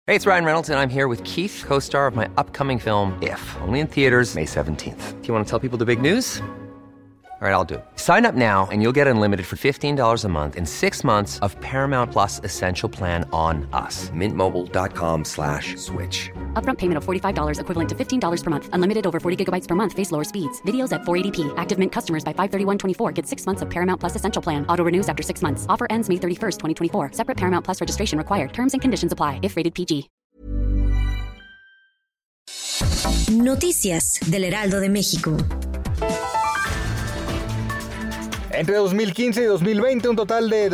Hey, it's Ryan Reynolds, and I'm here with Keith, co-star of my upcoming film, If, only in theaters May 17th. Do you want to tell people the big news? All right, I'll do it. Sign up now and you'll get unlimited for $15 a month and 6 months of Paramount Plus Essential Plan on us. MintMobile.com/switch. Upfront payment of $45 equivalent to $15 per month. Unlimited over 40 gigabytes per month. Face lower speeds. Videos at 480p. Active Mint customers by 531.24 get 6 months of Paramount Plus Essential Plan. Auto renews after 6 months. Offer ends May 31st, 2024. Separate Paramount Plus registration required. Terms and conditions apply if rated PG. Noticias del Heraldo de México. Entre 2015 y 2020, un total de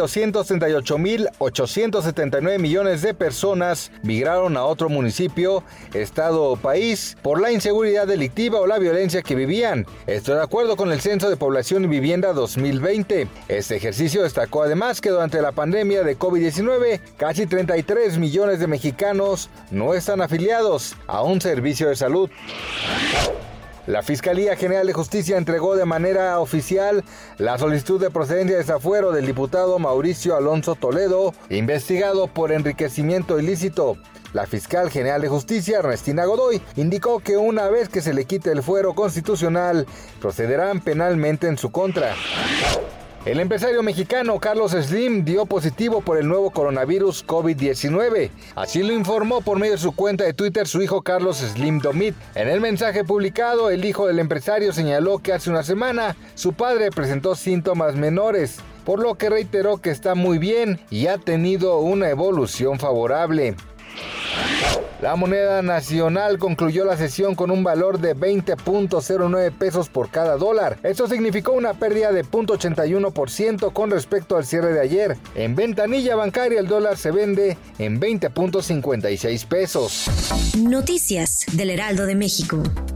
238.879 millones de personas migraron a otro municipio, estado o país por la inseguridad delictiva o la violencia que vivían. Esto de acuerdo con el Censo de Población y Vivienda 2020. Este ejercicio destacó además que durante la pandemia de COVID-19, casi 33 millones de mexicanos no están afiliados a un servicio de salud. La Fiscalía General de Justicia entregó de manera oficial la solicitud de procedencia de desafuero del diputado Mauricio Alonso Toledo, investigado por enriquecimiento ilícito. La fiscal general de justicia, Ernestina Godoy, indicó que una vez que se le quite el fuero constitucional, procederán penalmente en su contra. El empresario mexicano Carlos Slim dio positivo por el nuevo coronavirus COVID-19. Así lo informó por medio de su cuenta de Twitter su hijo Carlos Slim Domit. En el mensaje publicado, el hijo del empresario señaló que hace una semana su padre presentó síntomas menores, por lo que reiteró que está muy bien y ha tenido una evolución favorable. La moneda nacional concluyó la sesión con un valor de 20.09 pesos por cada dólar. Esto significó una pérdida de 0.81% con respecto al cierre de ayer. En ventanilla bancaria el dólar se vende en 20.56 pesos. Noticias del Heraldo de México.